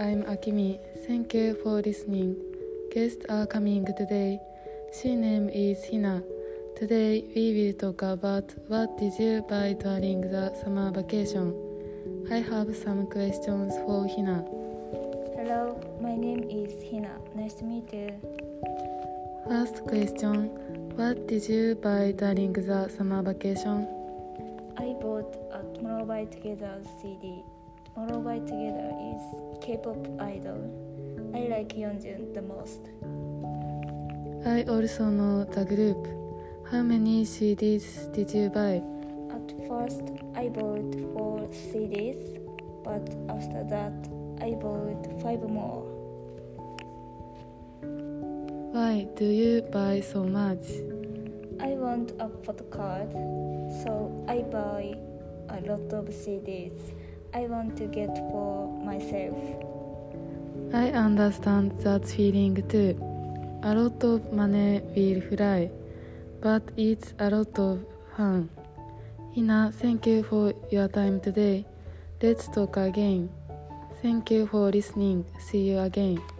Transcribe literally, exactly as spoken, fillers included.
I'm Akimi. Thank you for listening. Guests are coming today. She name is Hina. Today we will talk about what did you buy during the summer vacation. I have some questions for Hina. Hello, my name is Hina. Nice to meet you. First question, what did you buy during the summer vacation? I bought a Tomorrow by Together C D. Tomorrow by Together is K-pop idol. I like Yeonjun the most. I also know the group. How many C Ds did you buy? At first, I bought four C Ds, but after that, I bought five more. Why do you buy so much? I want a photocard, so I buy a lot of C Ds. I want to get for myself. I understand that feeling too. A lot of money will fly, but it's a lot of fun. Hina, thank you for your time today. Let's talk again. Thank you for listening. See you again.